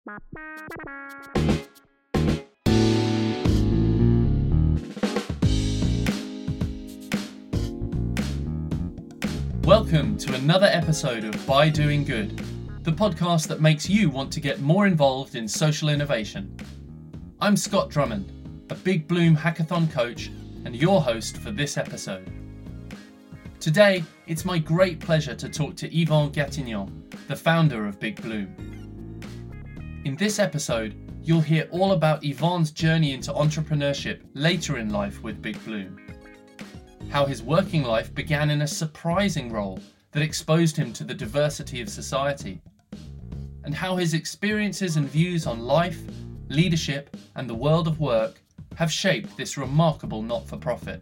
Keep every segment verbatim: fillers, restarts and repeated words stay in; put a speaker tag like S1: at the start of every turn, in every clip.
S1: Welcome to another episode of By Doing Good, the podcast that makes you want to get more involved in social innovation. I'm Scott Drummond, a Big Bloom hackathon coach and your host for this episode. Today, it's my great pleasure to talk to Yvan Gatignan, the founder of Big Bloom. In this episode, you'll hear all about Yvan's journey into entrepreneurship later in life with Big Bloom, how his working life began in a surprising role that exposed him to the diversity of society, and how his experiences and views on life, leadership, and the world of work have shaped this remarkable not-for-profit.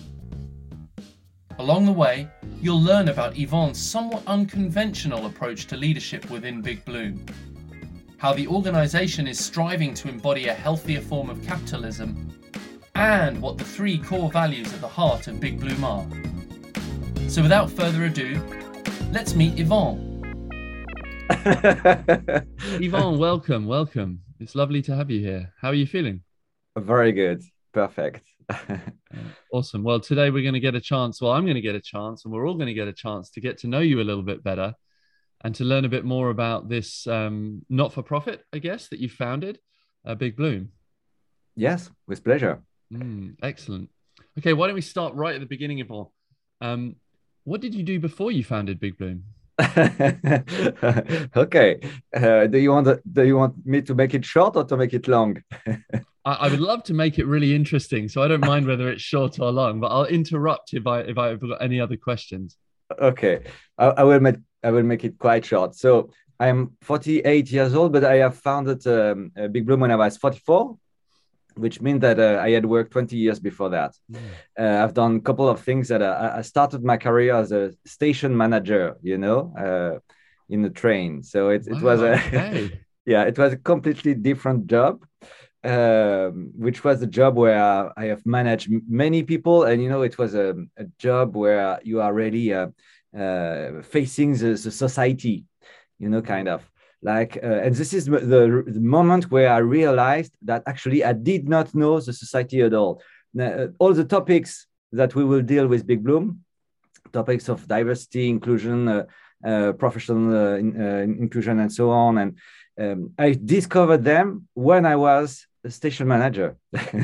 S1: Along the way, you'll learn about Yvan's somewhat unconventional approach to leadership within Big Bloom, how the organisation is striving to embody a healthier form of capitalism, and what the three core values at the heart of Big Bloom are. So without further ado, let's meet Yvan. Yvan, welcome, welcome. It's lovely to have you here. How are you feeling?
S2: Very good. Perfect.
S1: Awesome. Well, today we're going to get a chance, well, I'm going to get a chance, and we're all going to get a chance to get to know you a little bit better and to learn a bit more about this um, not-for-profit, I guess, that you founded, uh, Big Bloom.
S2: Yes, with pleasure.
S1: Mm, excellent. Okay, why don't we start right at the beginning of all? Um, what did you do before you founded Big Bloom?
S2: Okay. Uh, do you want do you want me to make it short or to make it long?
S1: I, I would love to make it really interesting, so I don't mind whether it's short or long, but I'll interrupt if I if I've got any other questions.
S2: Okay, I, I will make I will make it quite short. So I'm forty-eight years old, but I have founded um, Big Bloom when I was forty-four, which means that uh, I had worked twenty years before that. Mm. Uh, I've done a couple of things that uh, I started my career as a station manager, you know, uh, in the train. So it, it wow, was a, okay. yeah, it was a completely different job, um, which was a job where I have managed many people. And, you know, it was a, a job where you are really uh, uh, facing the, the society, you know, kind of. Like, uh, and this is the, the moment where I realized that actually I did not know the society at all. Now, all the topics that we will deal with Big Bloom, topics of diversity, inclusion, uh, uh, professional uh, in, uh, inclusion, and so on. And um, I discovered them when I was a station manager.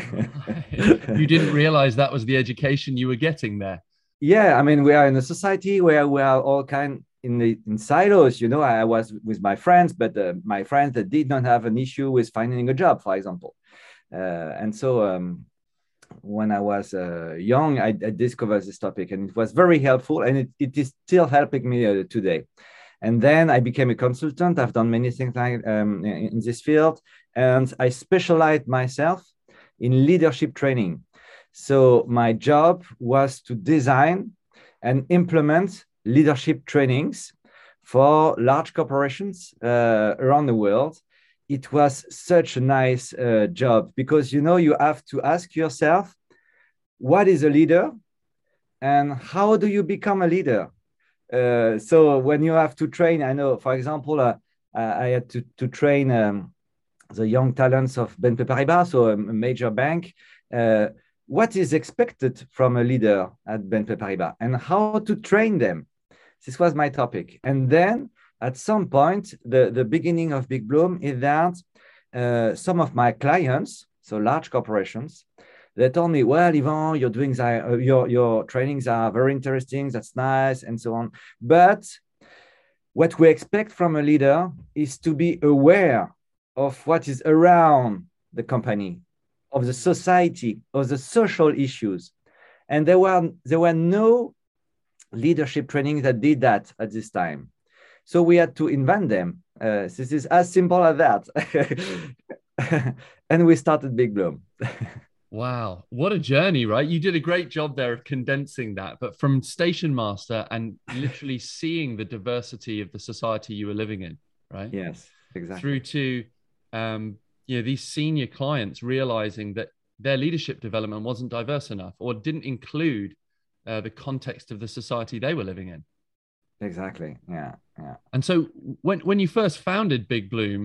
S1: You didn't realize that was the education you were getting there.
S2: Yeah, I mean, we are in a society where we are all kind in the in silos. You know, I was with my friends, but uh, my friends that did not have an issue with finding a job, for example. Uh, and so um, when I was uh, young, I, I discovered this topic, and it was very helpful, and it, it is still helping me uh, today. And then I became a consultant. I've done many things like um, in, in this field, and I specialized myself in leadership training. So my job was to design and implement leadership trainings for large corporations uh, around the world. It was such a nice uh, job because, you know, you have to ask yourself, what is a leader and how do you become a leader? Uh, so when you have to train, I know, for example, uh, I had to, to train um, the young talents of B N P Paribas, so a major bank. Uh, what is expected from a leader at B N P Paribas and how to train them? This was my topic. And then at some point, the, the beginning of Big Bloom is that uh, some of my clients, so large corporations, they told me, well, Yvan, you're doing that, uh, your, your trainings are very interesting, that's nice, and so on. But what we expect from a leader is to be aware of what is around the company, of the society, of the social issues. And there were, there were no leadership training that did that at this time. So we had to invent them. Uh, this is as simple as that. And we started Big Bloom.
S1: Wow. What a journey, right? You did a great job there of condensing that, but from station master and literally seeing the diversity of the society you were living in, right?
S2: Yes, exactly.
S1: Through to, um, you know, these senior clients realizing that their leadership development wasn't diverse enough or didn't include uh, the context of the society they were living in.
S2: Exactly. Yeah. Yeah.
S1: And so when, when you first founded Big Bloom,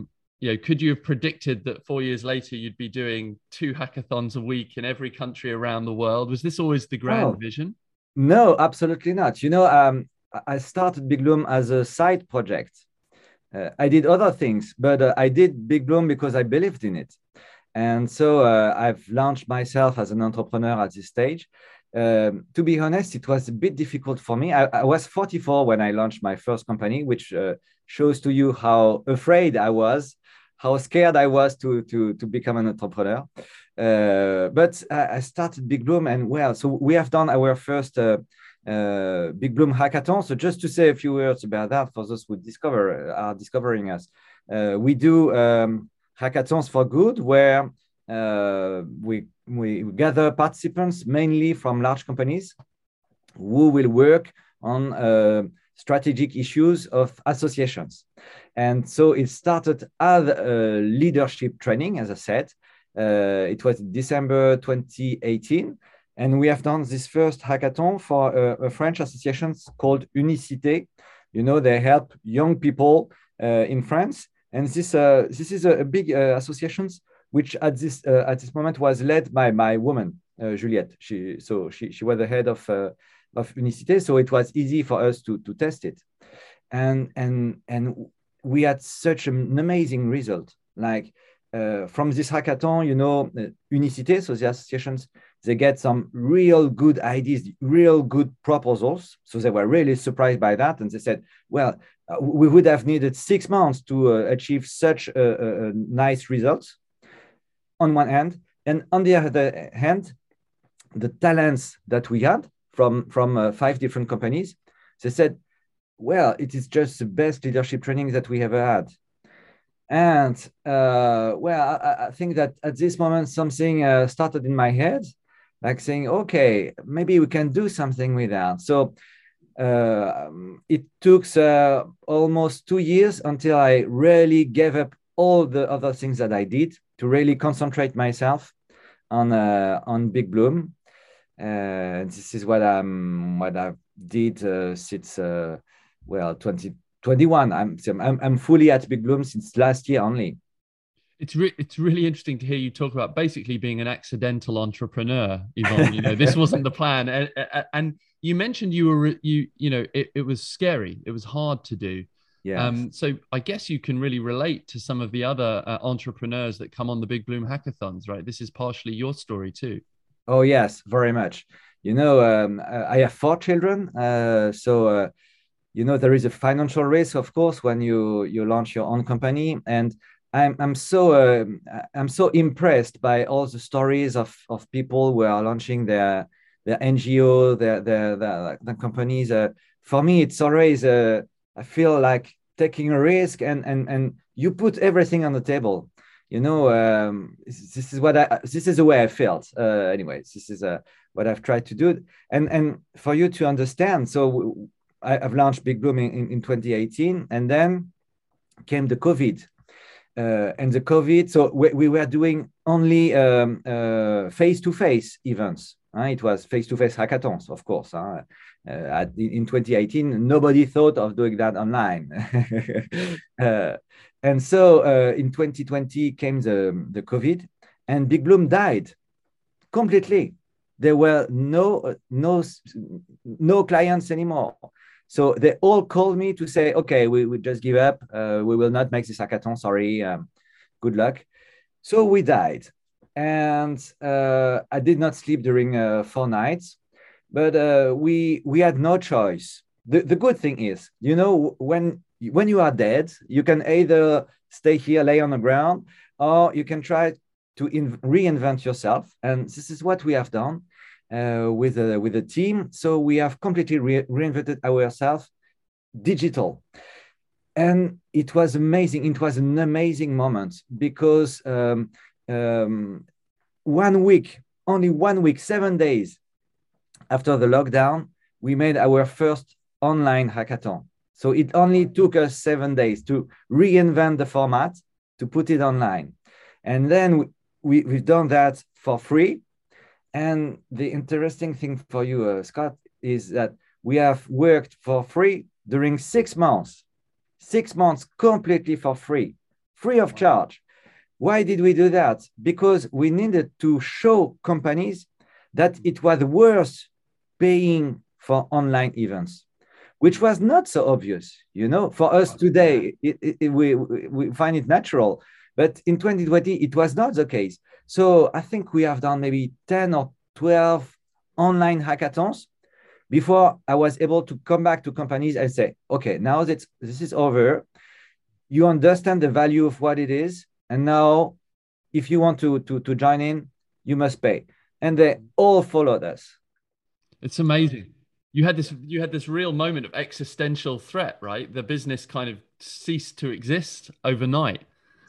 S1: you know, could you have predicted that four years later you'd be doing two hackathons a week in every country around the world? Was this always the grand
S2: Oh,
S1: vision?
S2: no, absolutely not. You know, um, I started Big Bloom as a side project. Uh, I did other things, but uh, I did Big Bloom because I believed in it. And so uh, I've launched myself as an entrepreneur at this stage. Um, to be honest, it was a bit difficult for me. I, I was forty-four when I launched my first company, which uh, shows to you how afraid I was, how scared I was to, to, to become an entrepreneur. Uh, but I, I started Big Bloom, and well, so we have done our first uh, uh, Big Bloom hackathon. So just to say a few words about that for those who discover are discovering us, uh, we do um, hackathons for good, where uh, we we gather participants mainly from large companies who will work on uh, strategic issues of associations. And so it started as a leadership training, as I said. Uh, it was December twenty eighteen. And we have done this first hackathon for a, a French association called Unicité. You know, they help young people uh, in France. And this, uh, this is a, a big uh, association, which at this uh, at this moment was led by my woman, uh, Juliette. She so she she was the head of uh, of Unicité, so it was easy for us to to test it, and and and we had such an amazing result. Like uh, from this hackathon, you know, uh, Unicité, so the associations, they get some real good ideas, real good proposals. So they were really surprised by that, and they said, well, uh, we would have needed six months to uh, achieve such a, a, a nice results on one hand, and on the other hand, the talents that we had from from uh, five different companies, they said, well, it is just the best leadership training that we ever had. And uh, well, I, I think that at this moment something uh, started in my head, like saying, okay, maybe we can do something with that. So uh, it took uh, almost two years until I really gave up all the other things that I did to really concentrate myself on uh, on Big Bloom. Uh, this is what I'm what I did uh, since uh, well twenty twenty-one. I'm, I'm I'm fully at Big Bloom since last year only.
S1: It's re- it's really interesting to hear you talk about basically being an accidental entrepreneur, Yvonne. You know, this wasn't the plan, and, and you mentioned you were you you know it, it was scary, it was hard to do.
S2: Yeah.
S1: Um, so I guess you can really relate to some of the other uh, entrepreneurs that come on the Big Bloom hackathons, right? This is partially your story too.
S2: Oh yes, very much. You know, um, I have four children, uh, so uh, you know there is a financial risk, of course, when you you launch your own company, and I'm I'm so uh, I'm so impressed by all the stories of of people who are launching their their N G O, their their their, their companies. Uh, for me, it's always uh, I feel like taking a risk, and and and you put everything on the table. You know, um, this is what I this is the way I felt. Uh, anyways, this is uh, what I've tried to do, and and for you to understand. So I, I've launched Big Bloom in, in twenty eighteen, and then came the COVID. Uh, and the COVID, so we, we were doing only um, uh, face-to-face events. Uh, it was face-to-face hackathons, of course. Uh, uh, at, in twenty eighteen, nobody thought of doing that online. uh, and so uh, in twenty twenty came the, the COVID, and Big Bloom died completely. There were no, no, no clients anymore. So they all called me to say, okay, we, we just give up. Uh, we will not make this hackathon. Sorry. Um, good luck. So we died. And uh, I did not sleep during uh, four nights, but uh, we we had no choice. The, the good thing is, you know, when, when you are dead, you can either stay here, lay on the ground, or you can try to in, reinvent yourself. And this is what we have done. Uh, with a with a team, so we have completely re reinvented ourselves digital, and it was amazing. It was an amazing moment because um, um, one week, only one week, seven days after the lockdown, we made our first online hackathon. So it only took us seven days to reinvent the format, to put it online, and then we, we we've done that for free. And the interesting thing for you, uh, Scott, is that we have worked for free during six months, six months completely for free free of charge. Why did we do that? Because we needed to show companies that it was worth paying for online events, which was not so obvious. You know, for us today, it, it, it, we, we find it natural. But in twenty twenty, it was not the case. So I think we have done maybe ten or twelve online hackathons before I was able to come back to companies and say, okay, now that this is over, you understand the value of what it is. And now if you want to, to, to join in, you must pay. And they all followed us.
S1: It's amazing. You had this, you had this real moment of existential threat, right? The business kind of ceased to exist overnight.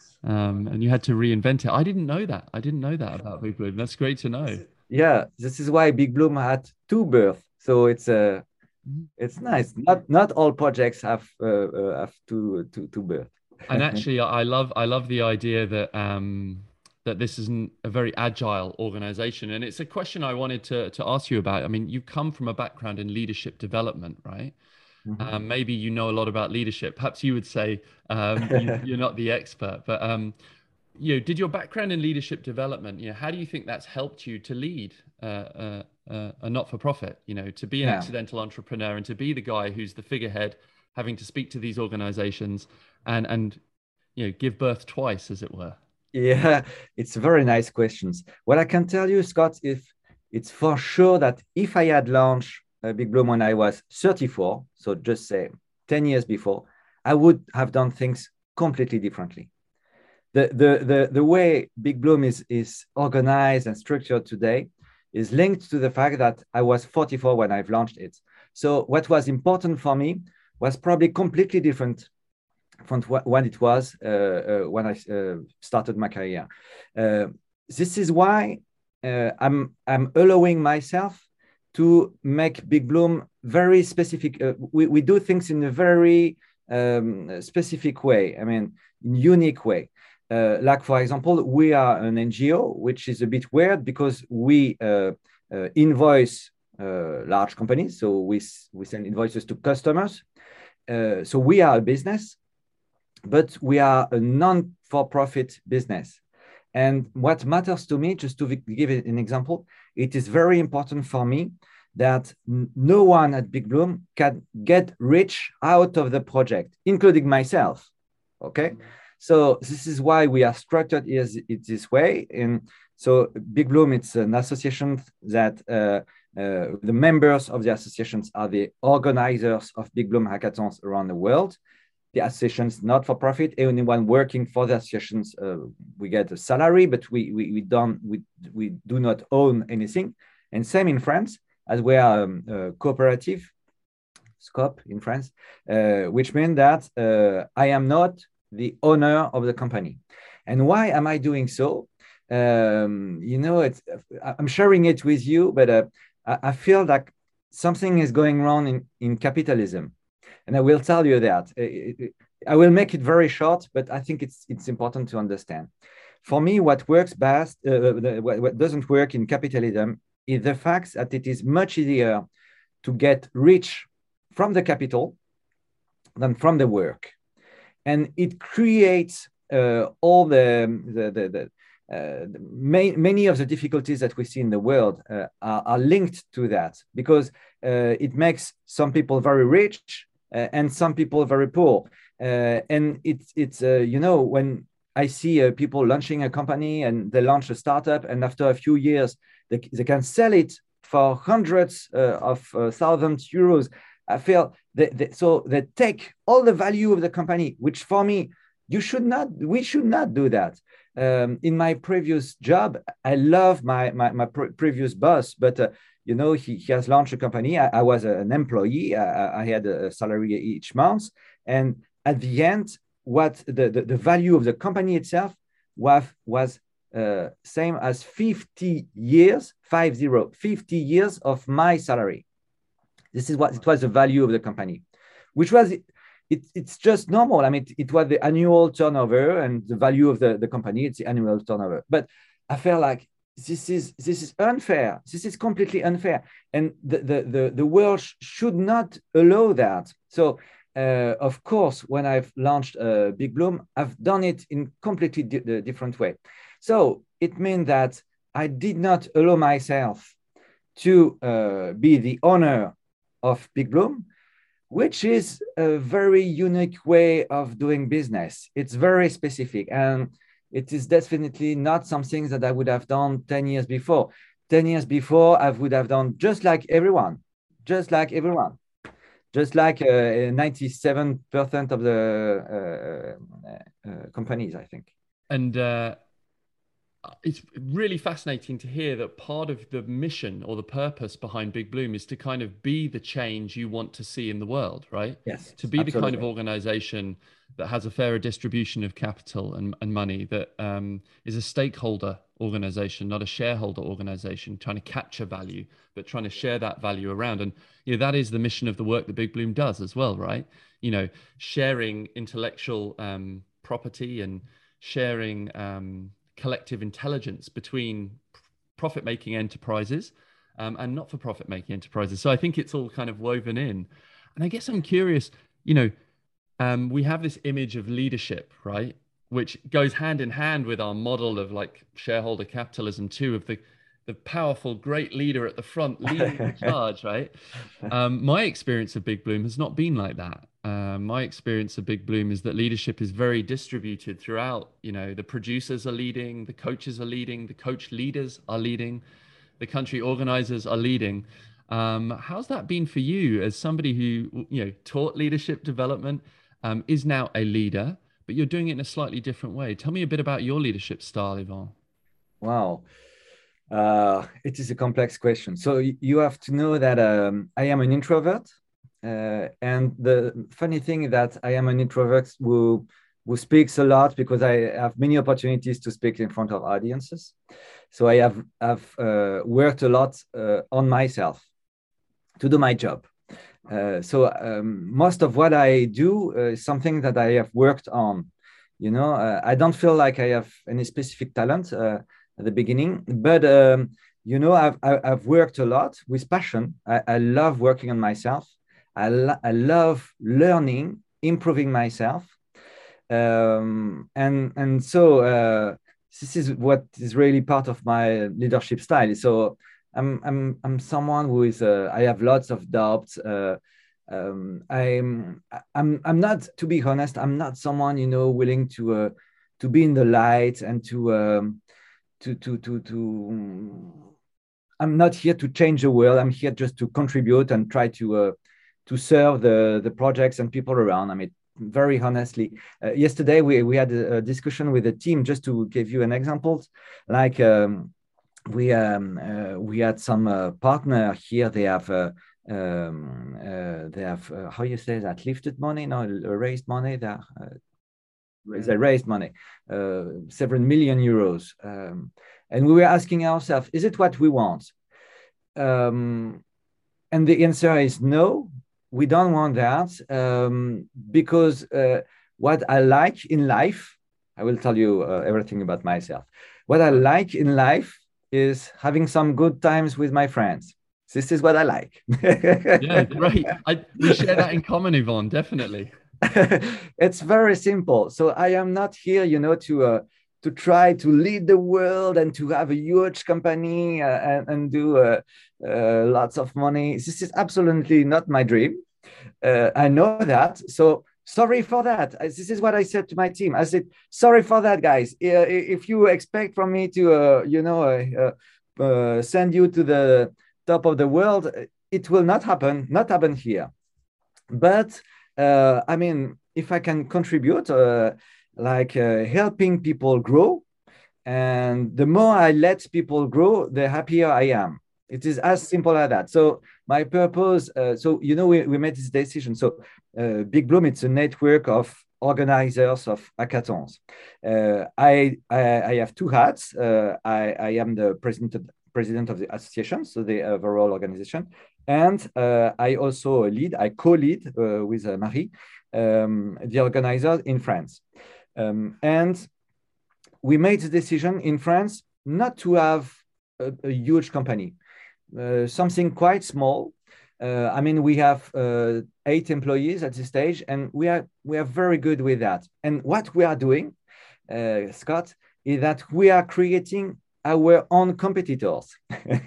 S1: Um, and you had to reinvent it. I didn't know that. I didn't know that about Big Bloom. That's great to know.
S2: Yeah, this is why Big Bloom had two births. So it's uh, it's nice. Not not all projects have uh, uh, have two two two births.
S1: And actually, I love I love the idea that um, that this isn't a very agile organization. And it's a question I wanted to to ask you about. I mean, you come from a background in leadership development, right? Mm-hmm. Um, maybe you know a lot about leadership. Perhaps you would say um, you, you're not the expert, but um, you know, did your background in leadership development, you know, how do you think that's helped you to lead uh, uh, uh, a not-for-profit, you know, to be an yeah. accidental entrepreneur and to be the guy who's the figurehead, having to speak to these organizations and, and, you know, give birth twice, as it were?
S2: Yeah, it's very nice questions. What I can tell you, Scott, if it's for sure that if I had launched uh, Big Bloom when I was thirty-four, so just say ten years before, I would have done things completely differently. The, the, the, the way Big Bloom is, is organized and structured today is linked to the fact that I was forty-four when I've launched it. So what was important for me was probably completely different from what it was uh, uh, when I uh, started my career. Uh, this is why uh, I'm, I'm allowing myself to make Big Bloom very specific. Uh, we, we do things in a very um, specific way, I mean, unique way. Uh, like, for example, we are an N G O, which is a bit weird because we uh, uh, invoice uh, large companies. So we, we send invoices to customers. Uh, so we are a business, but we are a non-for-profit business. And what matters to me, just to give it an example, it is very important for me that no one at Big Bloom can get rich out of the project, including myself, okay? Mm-hmm. So this is why we are structured is it this way. And so Big Bloom, it's an association that uh, uh, the members of the associations are the organizers of Big Bloom hackathons around the world. The associations not for profit. Anyone working for the associations, uh, we get a salary, but we we we don't we we do not own anything. And same in France, as we are um, uh, cooperative, scope in France, uh, which means that uh, I am not the owner of the company. And why am I doing so? Um, you know, it's, I'm sharing it with you, but uh, I feel like something is going wrong in, in capitalism. And I will tell you that. I will make it very short, but I think it's, it's important to understand. For me, what works best, uh, what doesn't work in capitalism is the fact that it is much easier to get rich from the capital than from the work. And it creates uh, all the, the, the, the, uh, the may, many of the difficulties that we see in the world uh, are, are linked to that, because uh, it makes some people very rich uh, and some people very poor. Uh, and it's, it's uh, you know, when I see uh, people launching a company and they launch a startup, and after a few years, they, they can sell it for hundreds uh, of uh, thousands euros. I feel that, that so they take all the value of the company, which for me, you should not, we should not do that. Um, in my previous job, I love my, my, my pre previous boss, but uh, you know, he, he has launched a company. I, I was an employee. I, I had a salary each month. And at the end, what the, the, the value of the company itself was, was uh, same as fifty years, five zero, fifty years of my salary. This is what it was the value of the company, which was, it, it, it's just normal. I mean, it, it was the annual turnover, and the value of the, the company, it's the annual turnover. But I felt like this is, this is unfair. This is completely unfair. And the, the, the, the world sh should not allow that. So uh, of course, when I've launched uh, Big Bloom, I've done it in completely di- different way. So it means that I did not allow myself to uh, be the owner of Big Bloom, which is a very unique way of doing business. It's very specific, and it is definitely not something that I would have done ten years before. ten years before, I would have done just like everyone, just like everyone, just like uh, ninety-seven percent of the uh, uh, companies, I think.
S1: And uh, it's really fascinating to hear that part of the mission or the purpose behind Big Bloom is to kind of be the change you want to see in the world, right?
S2: Yes,
S1: To be
S2: absolutely.
S1: the kind of organization that has a fairer distribution of capital and, and money, that um, is a stakeholder organization, not a shareholder organization, trying to capture value, but trying to share that value around. And you know, that is the mission of the work that Big Bloom does as well, right? You know, sharing intellectual um, property and sharing um, collective intelligence between profit-making enterprises um, and not-for-profit making enterprises. So I think it's all kind of woven in. And I guess I'm curious, you know, um, we have this image of leadership, right? Which goes hand in hand with our model of like shareholder capitalism too, of the the powerful, great leader at the front leading the charge, right? Um, my experience of Big Bloom has not been like that. Uh, my experience of Big Bloom is that leadership is very distributed throughout. You know, the producers are leading, the coaches are leading, the coach leaders are leading, the country organizers are leading. Um, how's that been for you as somebody who, you know, taught leadership development, um, is now a leader, but you're doing it in a slightly different way? Tell me a bit about your leadership style, Yvan.
S2: Wow. Uh, it is a complex question. So you have to know that um, I am an introvert. Uh, and the funny thing is that I am an introvert who, who speaks a lot because I have many opportunities to speak in front of audiences. So I have, have uh, worked a lot uh, on myself to do my job. Uh, so um, most of what I do uh, is something that I have worked on. You know, uh, I don't feel like I have any specific talent uh, at the beginning, but um, you know, I've I've worked a lot with passion. I, I love working on myself. I lo- I love learning, improving myself, um, and and so uh, this is what is really part of my leadership style. So I'm I'm I'm someone who is uh, I have lots of doubts. Uh, um, I'm I'm I'm not, to be honest, I'm not someone, you know, willing to uh, to be in the light and to um, to to to to. I'm not here to change the world. I'm here just to contribute and try to uh, to serve the the projects and people around. I mean, very honestly, uh, yesterday we we had a, a discussion with a team, just to give you an example, like. Um, we um, uh, we had some uh, partner here. They have uh, um, uh, they have uh, how you say that, lifted money, no, raised money. They, uh, they raised money, uh, several million euros, um, and we were asking ourselves, is it what we want? Um, and the answer is no. We don't want that um, because uh, what I like in life, I will tell you uh, everything about myself. What I like in life is having some good times with my friends. This is what I like.
S1: Yeah, great. I, we share that in common, Yvan, definitely.
S2: It's very simple. So I am not here, you know, to uh, to try to lead the world and to have a huge company uh, and, and do uh, uh, lots of money. This is absolutely not my dream. Uh, I know that. So sorry for that. This is what I said to my team. I said, sorry for that, guys. If you expect from me to, uh, you know, uh, uh, send you to the top of the world, it will not happen, not happen here. But uh, I mean, if I can contribute, uh, like uh, helping people grow, and the more I let people grow, the happier I am. It is as simple as that. So my purpose, uh, so, you know, we, we made this decision. So uh, Big Bloom, it's a network of organizers of hackathons. Uh, I, I, I have two hats. Uh, I, I am the president of, president of the association, so the overall organization. And uh, I also lead, I co-lead uh, with uh, Marie, um, the organizers in France. Um, and we made the decision in France not to have a, a huge company, uh, something quite small, Uh, I mean, we have uh, eight employees at this stage, and we are we are very good with that. And what we are doing, uh, Scott, is that we are creating our own competitors.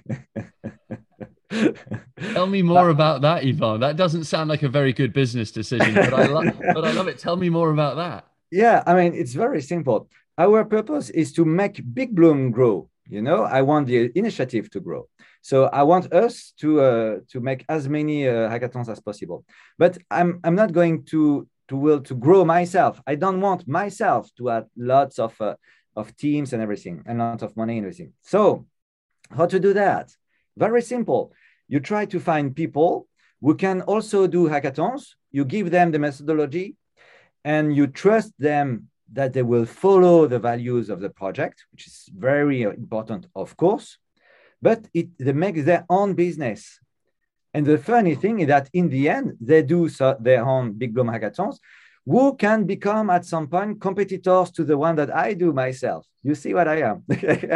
S1: Tell me more about that, Yvan. That doesn't sound like a very good business decision, but I love but I love it. Tell me more about that.
S2: Yeah, I mean, it's very simple. Our purpose is to make Big Bloom grow. You know, I want the initiative to grow. So I want us to uh, to make as many uh, hackathons as possible. But I'm I'm not going to to will to grow myself. I don't want myself to have lots of uh, of teams and everything, and lots of money and everything. So how to do that? Very simple. You try to find people who can also do hackathons. You give them the methodology, and you trust them that they will follow the values of the project, which is very important, of course, but it, they make their own business. And the funny thing is that in the end, they do so, their own Big Bloom hackathons, who can become at some point competitors to the one that I do myself. You see what I am.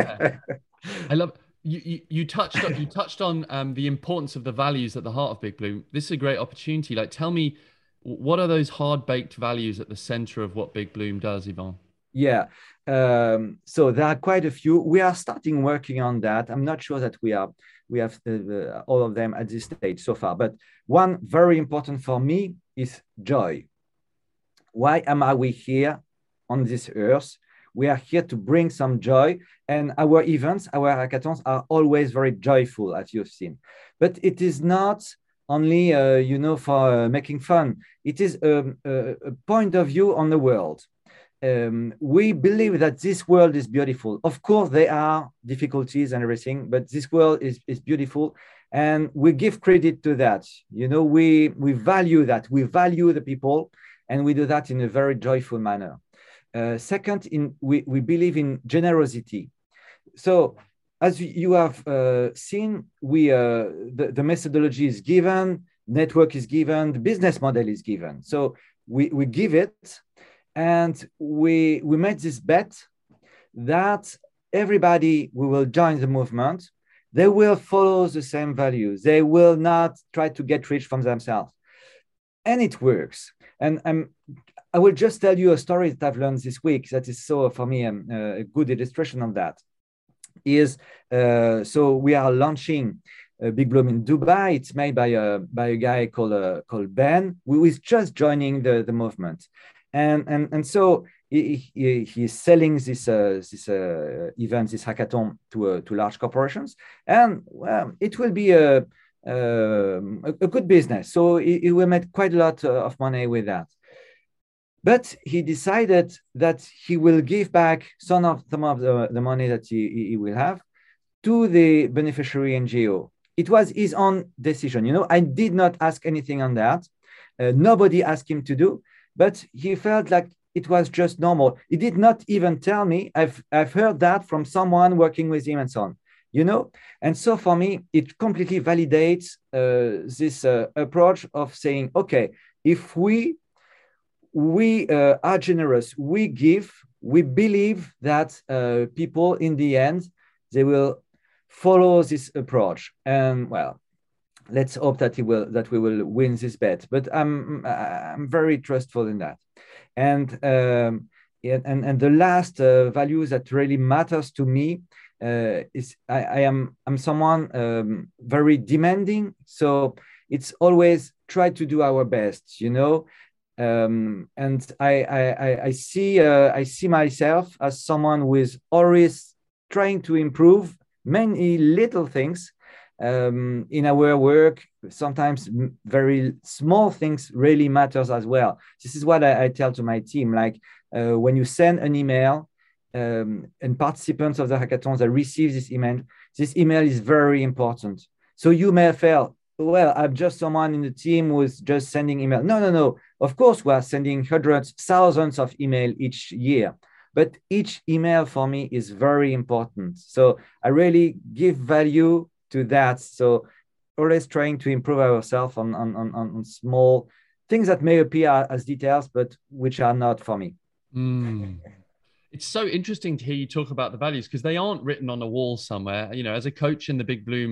S1: I love you, you. You touched on, you touched on um, the importance of the values at the heart of Big Bloom. This is a great opportunity. Like, tell me, what are those hard-baked values at the center of what Big Bloom does, Yvan?
S2: Yeah, um, so there are quite a few. We are starting working on that. I'm not sure that we are we have uh, all of them at this stage so far. But one very important for me is joy. Why am I we here on this earth? We are here to bring some joy, and our events, our hackathons are always very joyful, as you've seen. But it is not only, uh, you know, for uh, making fun. It is um, a, a point of view on the world. Um, we believe that this world is beautiful. Of course, there are difficulties and everything, but this world is, is beautiful. And we give credit to that. You know, we, we value that. We value the people, and we do that in a very joyful manner. Uh, second, in, we, we believe in generosity. So, as you have uh, seen, we uh, the, the methodology is given, network is given, the business model is given. So we, we give it, and we, we made this bet that everybody who will join the movement, they will follow the same values. They will not try to get rich from themselves. And it works. And um, I will just tell you a story that I've learned this week that is so, for me, um, a good illustration of that. Is uh, so we are launching uh, Big Bloom in Dubai. It's made by a by a guy called uh, called Ben, who is just joining the, the movement, and and and so he, he he's selling this uh, this uh, event, this hackathon to uh, to large corporations, and well, it will be a a, a good business. So he, he will make quite a lot of money with that. But he decided that he will give back some of, some of the, the money that he, he will have to the beneficiary N G O. It was his own decision. You know, I did not ask anything on that. Uh, nobody asked him to do, but he felt like it was just normal. He did not even tell me. I've, I've heard that from someone working with him and so on, you know? And so for me, it completely validates uh, this uh, approach of saying, okay, if we we uh, are generous, we give, we believe that uh, people in the end, they will follow this approach. And well, let's hope that he will, that we will win this bet. But I'm, I'm very trustful in that. And, um, and, and the last uh, value that really matters to me uh, is I, I am I'm someone um, very demanding. So it's always try to do our best, you know. Um, and I, I, I see uh, I see myself as someone who is always trying to improve many little things um, in our work. Sometimes very small things really matters as well. This is what I, I tell to my team. Like uh, when you send an email um, and participants of the hackathons that receive this email, this email is very important. So you may feel, well, I'm just someone in the team who's just sending email. No, no, no. Of course, we are sending hundreds, thousands of email each year, but each email for me is very important. So I really give value to that. So always trying to improve ourselves on, on, on, on small things that may appear as details, but which are not for me.
S1: Mm. It's so interesting to hear you talk about the values because they aren't written on a wall somewhere. You know, as a coach in the Big Bloom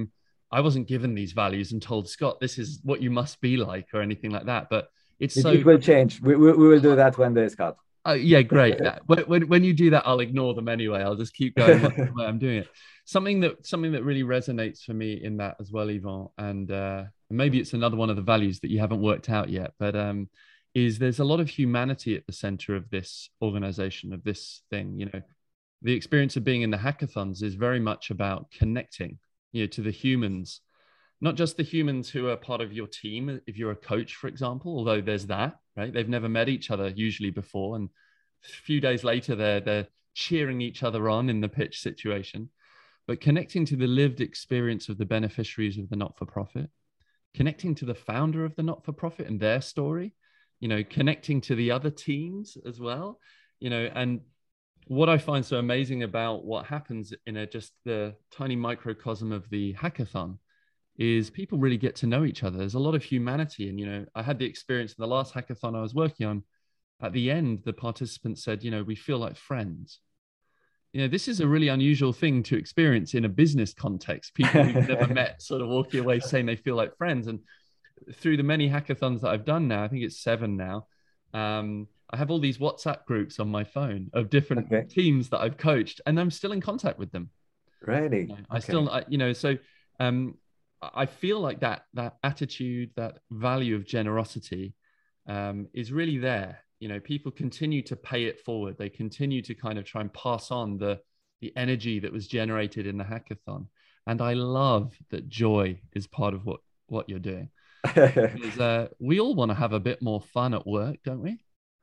S1: I wasn't given these values and told, Scott, this is what you must be like or anything like that. But it's
S2: It,
S1: so
S2: it will change. We, we, we will do that one day, Scott.
S1: Uh, yeah, great. Uh, when, when when you do that, I'll ignore them anyway. I'll just keep going while while I'm doing it. Something that something that really resonates for me in that as well, Yvan, and uh, maybe it's another one of the values that you haven't worked out yet, but um, is there's a lot of humanity at the center of this organization, of this thing. You know, the experience of being in the hackathons is very much about connecting, you know, to the humans, not just the humans who are part of your team. If you're a coach, for example, although there's that, right? They've never met each other usually before. And a few days later, they're, they're cheering each other on in the pitch situation. But connecting to the lived experience of the beneficiaries of the not-for-profit, connecting to the founder of the not-for-profit and their story, you know, connecting to the other teams as well, you know, and what I find so amazing about what happens in a just the tiny microcosm of the hackathon is people really get to know each other. There's a lot of humanity. And, you know, I had the experience in the last hackathon I was working on. At the end, the participants said, you know, we feel like friends. You know, this is a really unusual thing to experience in a business context. People who've never met sort of walking away saying they feel like friends. And through the many hackathons that I've done now, I think it's seven now, um, I have all these WhatsApp groups on my phone of different okay. teams that I've coached, and I'm still in contact with them.
S2: Really?
S1: You know, I okay. still, I, you know, so um, I feel like that that attitude, that value of generosity um, is really there. You know, people continue to pay it forward. They continue to kind of try and pass on the the energy that was generated in the hackathon. And I love that joy is part of what what you're doing. Because uh, we all want to have a bit more fun at work, don't we?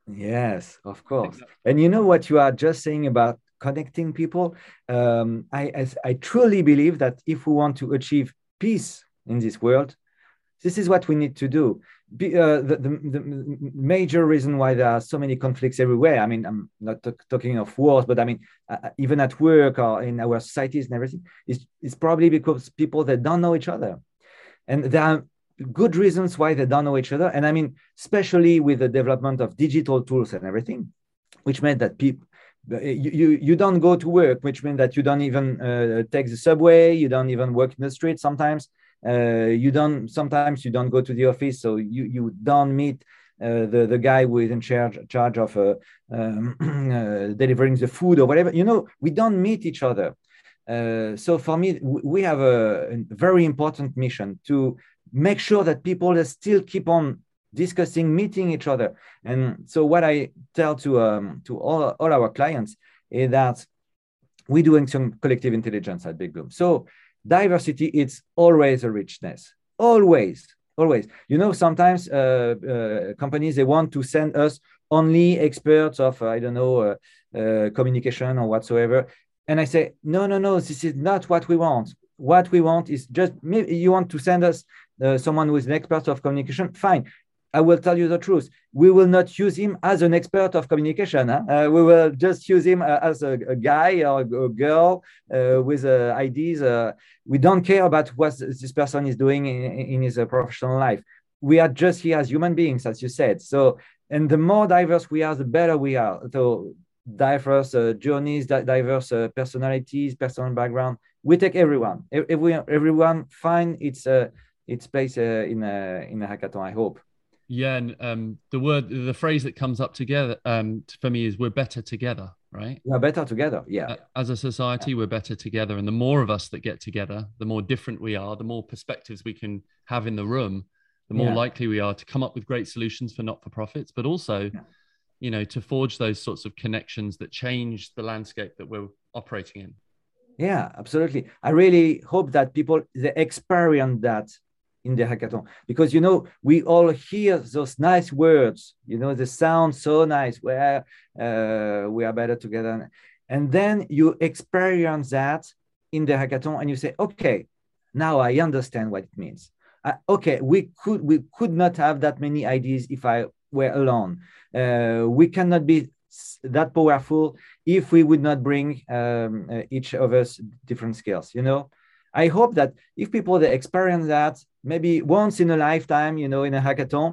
S2: Yes, of course. And you know what you are just saying about connecting people? Um, I, I I truly believe that if we want to achieve peace in this world, this is what we need to do. Be, uh, the, the, the major reason why there are so many conflicts everywhere, I mean, I'm not t- talking of wars, but I mean, uh, even at work or in our societies and everything, is is probably because people that don't know each other. And there are good reasons why they don't know each other. And I mean, especially with the development of digital tools and everything, which meant that people, You, you you don't go to work, which means that you don't even uh, take the subway, you don't even work in the street sometimes, uh, you don't sometimes you don't go to the office, so you you don't meet uh, the the guy who is in charge charge of uh, um, uh, delivering the food or whatever. You know, we don't meet each other. Uh, so for me, we have a, a very important mission to make sure that people still keep on discussing, meeting each other. And so what I tell to um, to all, all our clients is that we're doing some collective intelligence at Big Bloom. So diversity, it's always a richness, always, always. You know, sometimes uh, uh, companies, they want to send us only experts of, uh, I don't know, uh, uh, communication or whatsoever. And I say, no, no, no, this is not what we want. What we want is just, you want to send us uh, someone who is an expert of communication, fine. I will tell you the truth. We will not use him as an expert of communication. Huh? Uh, we will just use him uh, as a, a guy or a girl uh, with uh, ideas. Uh, we don't care about what this person is doing in, in his uh, professional life. We are just here as human beings, as you said. So, and the more diverse we are, the better we are. So, diverse uh, journeys, diverse uh, personalities, personal background. We take everyone. Everyone, everyone find its uh, its place uh, in a in a hackathon, I hope.
S1: Yeah, and um, the word, the phrase that comes up together um, for me is we're better together, right?
S2: We're better together, yeah.
S1: As a society, yeah. We're better together. And the more of us that get together, the more different we are, the more perspectives we can have in the room, the more yeah. likely we are to come up with great solutions for not-for-profits, but also, yeah. you know, to forge those sorts of connections that change the landscape that we're operating in.
S2: Yeah, absolutely. I really hope that people, they experience that in the hackathon, because you know we all hear those nice words, you know, they sound so nice, where uh, we are better together, and then you experience that in the hackathon and you say, okay, now I understand what it means. Uh, okay, we could we could not have that many ideas if I were alone. Uh, we cannot be that powerful if we would not bring um, uh, each of us different skills, you know. I hope that if people they experience that maybe once in a lifetime, you know, in a hackathon,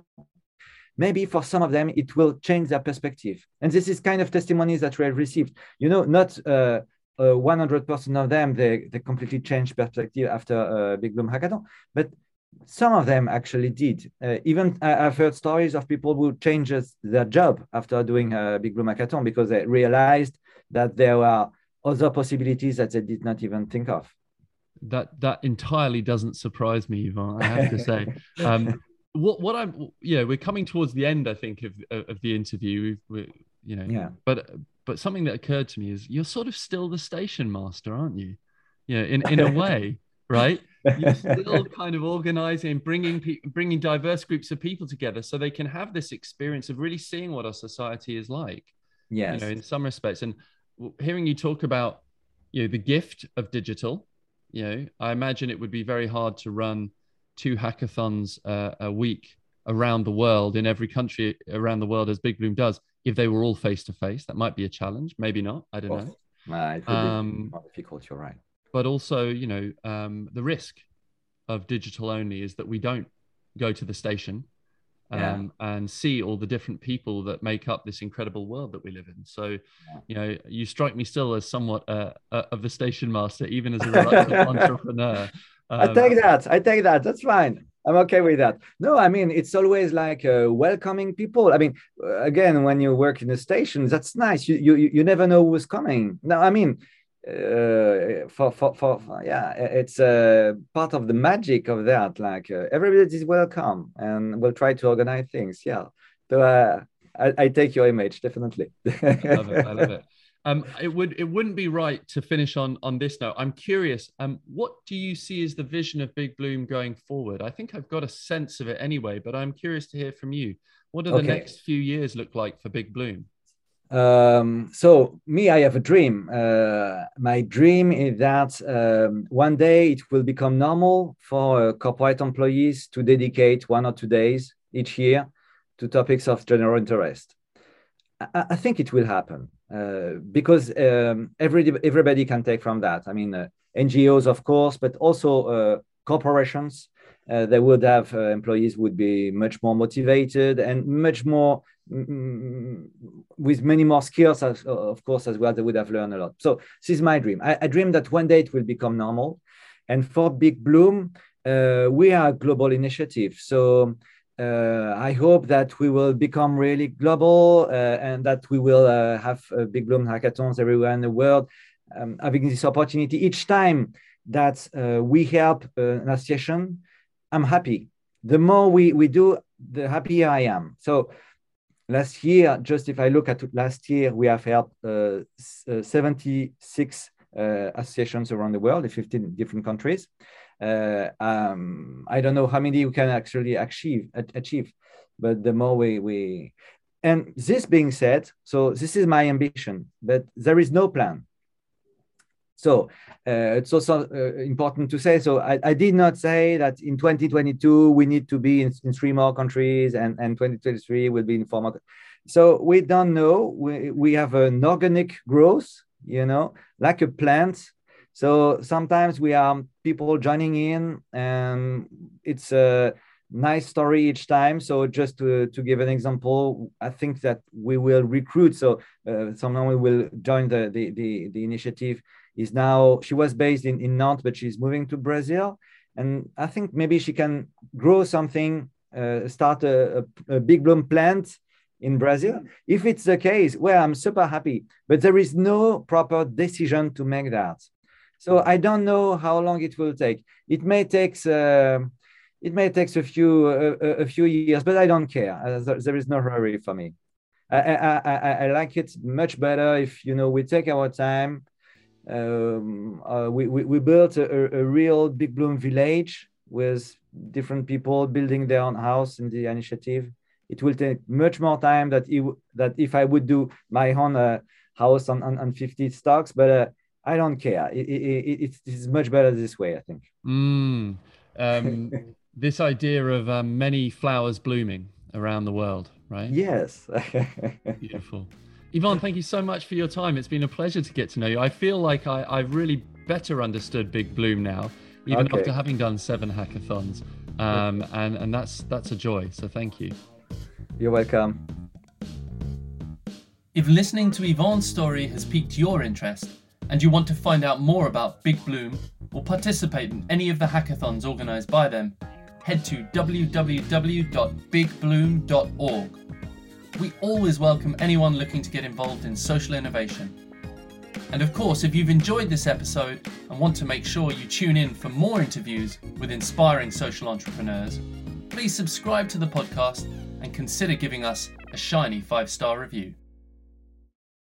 S2: maybe for some of them, it will change their perspective. And this is kind of testimonies that we have received, you know, not uh, uh, one hundred percent of them, they, they completely changed perspective after uh, Big Bloom Hackathon. But some of them actually did. Uh, even I, I've heard stories of people who changed their job after doing a Big Bloom Hackathon because they realized that there were other possibilities that they did not even think of.
S3: That that entirely doesn't surprise me, Yvan, I have to say. Um, what what I'm yeah, we're coming towards the end, I think, of of the interview. We've, we, you know,
S2: yeah.
S3: But but something that occurred to me is you're sort of still the station master, aren't you? You know, in in a way, right? You're still kind of organizing, bringing pe- bringing diverse groups of people together so they can have this experience of really seeing what our society is like.
S2: Yes.
S3: You know, in some respects, and hearing you talk about, you know, the gift of digital. You know, I imagine it would be very hard to run two hackathons uh, a week around the world in every country around the world as Big Bloom does. If they were all face to face, that might be a challenge. Maybe not. I don't know.
S2: Uh, it would um, be more difficult. You're right.
S3: But also, you know, um, the risk of digital only is that we don't go to the station um, yeah. and see all the different people that make up this incredible world that we live in. So, yeah. you know, you strike me still as somewhat uh, uh, of the station master, even as a reluctant entrepreneur.
S2: Um, I take that. I take that. That's fine. I'm okay with that. No, I mean, it's always like uh, welcoming people. I mean, again, when you work in a station, that's nice. You you you never know who's coming. No, I mean, uh, for, for for for yeah, it's a uh, part of the magic of that. Like uh, everybody is welcome, and we'll try to organize things. Yeah. So uh, I, I take your image definitely.
S3: I love it. I love it. Um, it would it wouldn't be right to finish on on this note. I'm curious. Um, what do you see as the vision of Big Bloom going forward? I think I've got a sense of it anyway, but I'm curious to hear from you. What do the okay. next few years look like for Big Bloom?
S2: Um, so me, I have a dream. Uh, my dream is that um, one day it will become normal for uh, corporate employees to dedicate one or two days each year to topics of general interest. I, I think it will happen. Uh, because um, every, everybody can take from that. I mean, uh, N G Os, of course, but also uh, corporations. Uh, they would have uh, employees would be much more motivated and much more mm, with many more skills, as, of course, as well. They would have learned a lot. So this is my dream. I, I dream that one day it will become normal. And for Big Bloom, uh, we are a global initiative. So Uh, I hope that we will become really global uh, and that we will uh, have uh, Big Bloom hackathons everywhere in the world. Um, having this opportunity each time that uh, we help uh, an association, I'm happy. The more we, we do, the happier I am. So last year, just if I look at last year, we have helped uh, seventy-six uh, associations around the world in fifteen different countries. Uh, um, I don't know how many we can actually achieve, achieve, but the more we, we, and this being said, so this is my ambition, but there is no plan. So uh, it's also uh, important to say, so I, I did not say that in twenty twenty-two, we need to be in, in three more countries and, and twenty twenty-three will be in four more. So we don't know, we, we have an organic growth, you know, like a plant. So sometimes we are people joining in and it's a nice story each time. So just to, to give an example, I think that we will recruit. So uh, someone we will join the, the, the, the initiative is now, she was based in, in Nantes, but she's moving to Brazil. And I think maybe she can grow something, uh, start a, a, a Big Bloom plant in Brazil. If it's the case, well, I'm super happy, but there is no proper decision to make that. So I don't know how long it will take. It may take uh, it may take a few uh, a few years, but I don't care. Uh, there, there is no hurry for me. I, I, I, I like it much better if you know we take our time. Um, uh, we, we we built a, a real Big Bloom village with different people building their own house in the initiative. It will take much more time that it, that if I would do my own uh, house on, on on fifty stocks, but. Uh, I don't care. It, it, it, it's much better this way, I think.
S3: Mm. Um, this idea of um, many flowers blooming around the world, right?
S2: Yes.
S3: Beautiful. Yvan, thank you so much for your time. It's been a pleasure to get to know you. I feel like I, I've really better understood Big Bloom now, even okay. after having done seven hackathons. Um, and, and that's, that's a joy. So thank you.
S2: You're welcome.
S1: If listening to Yvan's story has piqued your interest, and you want to find out more about Big Bloom or participate in any of the hackathons organised by them, head to w w w dot big bloom dot org. We always welcome anyone looking to get involved in social innovation. And of course, if you've enjoyed this episode and want to make sure you tune in for more interviews with inspiring social entrepreneurs, please subscribe to the podcast and consider giving us a shiny five-star review.